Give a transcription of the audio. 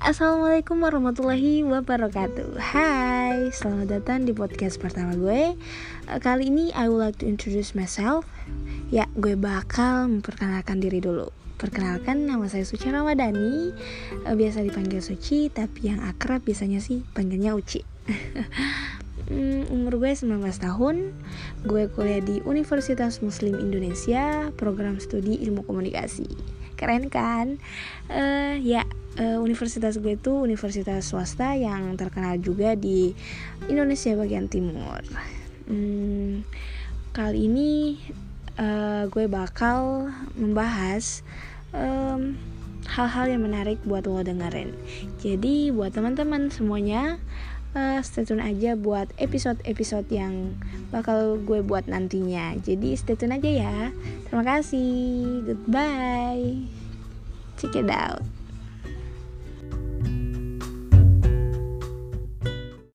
Assalamualaikum warahmatullahi wabarakatuh. Hai, selamat datang di podcast pertama gue. Kali ini I would like to introduce myself. Ya, gue bakal memperkenalkan diri dulu. Perkenalkan, nama saya Suci Ramadhani. Biasa dipanggil Suci, tapi yang akrab biasanya sih panggilnya Uci. Umur gue 19 tahun. Gue kuliah di Universitas Muslim Indonesia, program studi ilmu komunikasi. Keren kan? Universitas gue itu universitas swasta yang terkenal juga di Indonesia bagian timur. Kali ini gue bakal membahas hal-hal yang menarik buat lo dengerin. Jadi buat teman-teman semuanya, stay tune aja buat episode-episode yang bakal gue buat nantinya. Jadi stay tune aja ya. Terima kasih. Goodbye. Check it out.